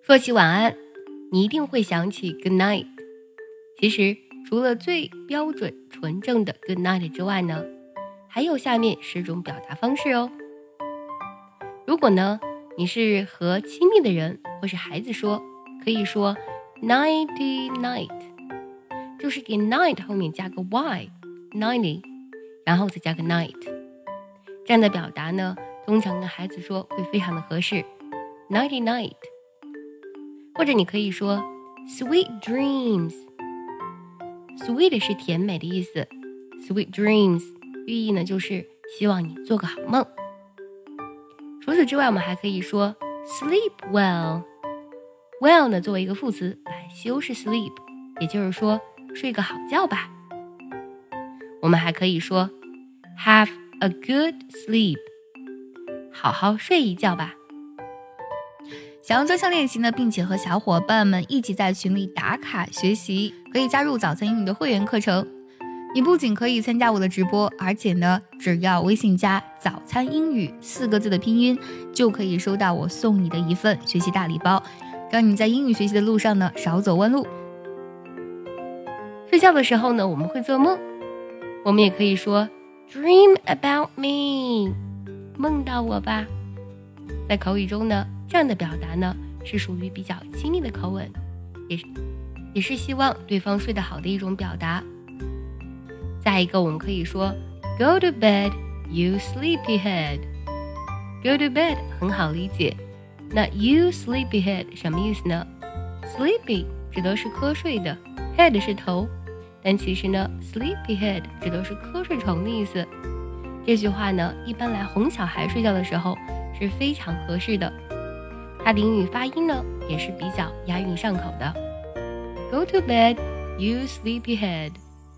说起晚安，你一定会想起 good night。 其实除了最标准纯正的 good night 之外呢，还有下面10种表达方式哦。如果呢你是和亲密的人或是孩子说，可以说 nighty night， 就是给 night 后面加个 y nighty， 然后再加个 night。 这样的表达呢通常跟孩子说会非常的合适， nighty night。 或者你可以说 sweet dreams， sweet 是甜美的意思， sweet dreams 寓意呢就是希望你做个好梦。除此之外，我们还可以说 sleep well， well 呢作为一个副词来修饰 sleep， 也就是说睡个好觉吧。我们还可以说 have a good sleep， 好好睡一觉吧。 想要专项练习呢，并且和小伙伴们一起在群里打卡学习，可以加入早餐英语的会员课程。你不仅可以参加我的直播，而且呢，只要微信加早餐英语4个字的拼音，就可以收到我送你的一份学习大礼包，让你在英语学习的路上呢少走弯路。 睡觉的时候呢，我们会做梦，我们也可以说 dream about me， 梦到我吧。在口语中呢，这样的表达呢是属于比较亲密的口吻，也是希望对方睡得好的一种表达。再一个，我们可以说 go to bed you sleepyhead， go to bed 很好理解，那 you sleepyhead 什么意思呢？ sleepy 指的是瞌睡的， head 是头，但其实呢 sleepyhead 指的是瞌睡虫的意思。这句话呢一般来哄小孩睡觉的时候是非常合适的，它的英语发音呢也是比较押韵上口的。 Go to bed you sleepyhead。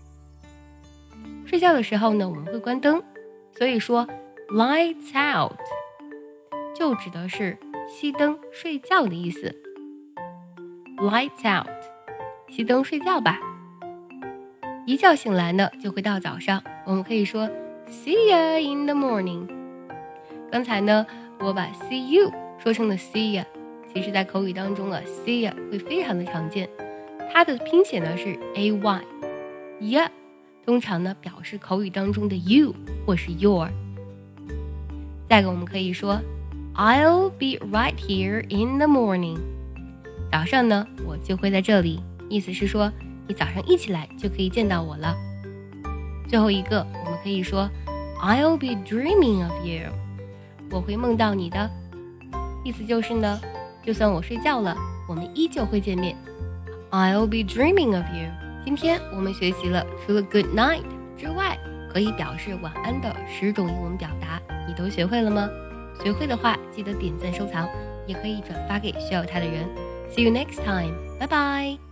睡觉的时候呢我们会关灯，所以说 lights out 就指的是熄灯睡觉的意思。 lights out 熄灯睡觉吧。一觉醒来呢就会到早上，我们可以说 see ya in the morning。 刚才呢我把 see you 说成了 see ya， 其实在口语当中see ya 会非常的常见，它的拼写呢是 ay ya， 通常呢表示口语当中的 you 或是 your。 再一个我们可以说 I'll be right here in the morning， 早上呢我就会在这里，意思是说你早上一起来就可以见到我了。最后一个我们可以说 I'll be dreaming of you， 我会梦到你的，意思就是呢就算我睡觉了我们依旧会见面。 I'll be dreaming of you。 今天我们学习了除了 good night 之外可以表示晚安的10种英文表达，你都学会了吗？学会的话记得点赞收藏，也可以转发给需要它的人。 See you next time， 拜拜。